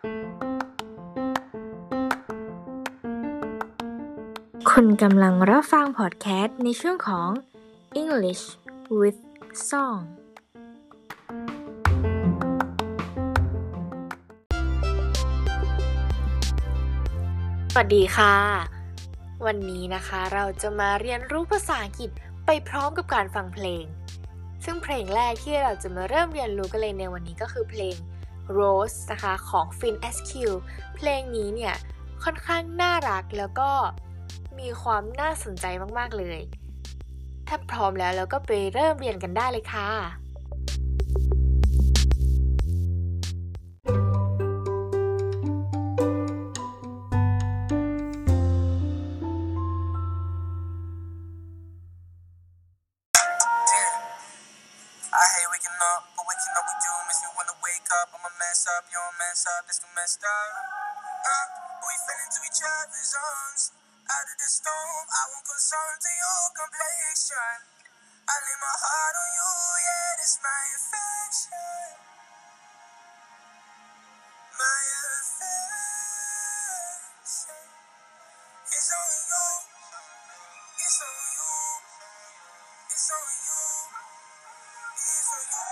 คุณกำลังรับฟังพอดแคสต์ในช่วงของ English with Song สวัสดีค่ะวันนี้นะคะเราจะมาเรียนรู้ภาษาอังกฤษไปพร้อมกับการฟังเพลงซึ่งเพลงแรกที่เราจะมาเริ่มเรียนรู้กันเลยในวันนี้ก็คือเพลง Rose นะคะของ Fin SQ เพลงนี้เนี่ยค่อนข้างน่ารักแล้วก็มีความน่าสนใจมากๆเลยถ้าพร้อมแล้วเราก็ไปเริ่มเรียนกันได้เลยค่ะ I hate waking up, but waking up with you makes me wanna wake up. I'ma mess up, you don't mess up, that's too messed up. We fell into each other's arms. Out of the storm, I won't concern to your complexion. I lay my heart on you, yeah, that's my affection. My affection is on you. It's on you. It's on you. It's on you.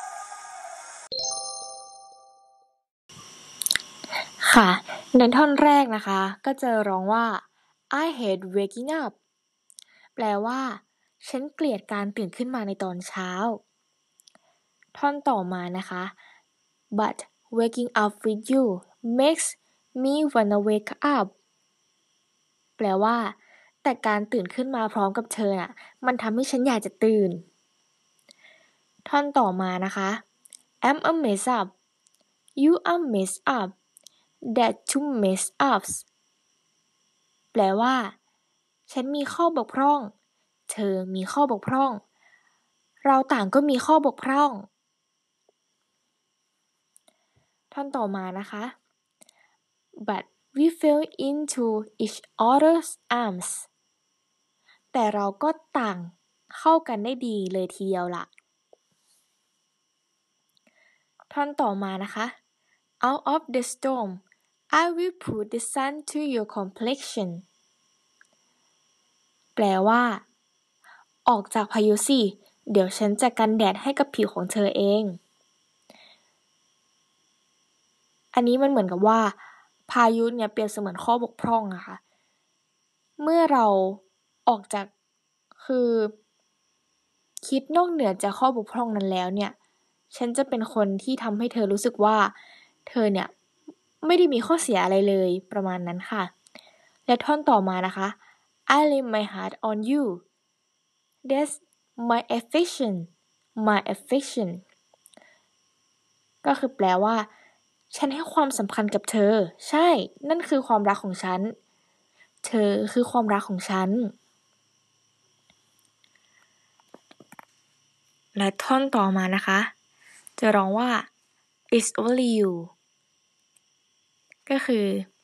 ค่ะในท่อนแรกนะคะก็จะร้องว่า I hate waking up แปลว่าฉันเกลียดการตื่นขึ้นมาในตอนเช้าท่อนต่อมานะคะ But waking up with you makes me wanna wake up แปลว่าแต่การตื่นขึ้นมาพร้อมกับเธอน่ะมันทำให้ฉันอยากจะตื่นท่อนต่อมานะคะ I'm a mess up You are mess up That two mess ups แปลว่าฉันมีข้อบกพร่องเธอมีข้อบกพร่องเราต่างก็มีข้อบกพร่องท่อนต่อมานะคะ But we fell into each other's arms แต่เราก็ต่างเข้ากันได้ดีเลยทีเดียวล่ะท่อนต่อมานะคะ Out of the storm I will put the sun to your complexion แปลว่าออกจากพายุสิเดี๋ยวฉันจะกันแดดให้กับผิวของเธอเองอันนี้มันเหมือนกับว่าพายุเนี่ยเปรียบเสมือนข้อบกพร่องอะค่ะเมื่อเราออกจากคือคิดนอกเหนือจากข้อบกพร่องนั้นแล้วเนี่ยฉันจะเป็นคนที่ทำให้เธอรู้สึกว่าเธอเนี่ยไม่ได้มีข้อเสียอะไรเลยประมาณนั้นค่ะและท่อนต่อมานะคะ I lay my heart on you That's my affection ก็คือแปลว่าฉันให้ความสำคัญกับเธอใช่นั่นคือความรักของฉันเธอคือความรักของฉันและท่อนต่อมานะคะจะร้องว่า It's only you ก็คือ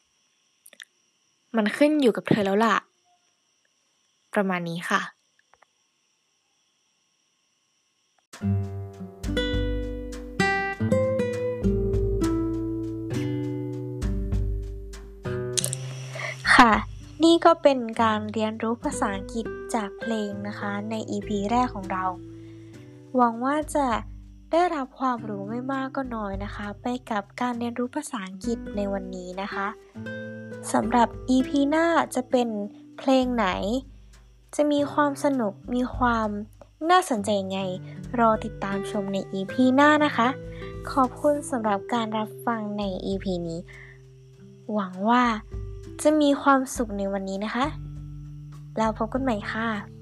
มันขึ้นอยู่กับเธอแล้วล่ะประมาณนี้ค่ะค่ะนี่ก็เป็นการเรียนรู้ภาษาอังกฤษจากเพลงนะคะใน EP แรกของเราหวังว่าจะได้รับความรู้ไม่มากก็น้อยนะคะไปกับการเรียนรู้ภาษาอังกฤษในวันนี้นะคะสำหรับ EP หน้าจะเป็นเพลงไหนจะมีความสนุกมีความน่าสนใจยังไงรอติดตามชมใน EP หน้านะคะขอบคุณสำหรับการรับฟังใน EP นี้หวังว่าจะมีความสุขในวันนี้นะคะแล้วพบกันใหม่ค่ะ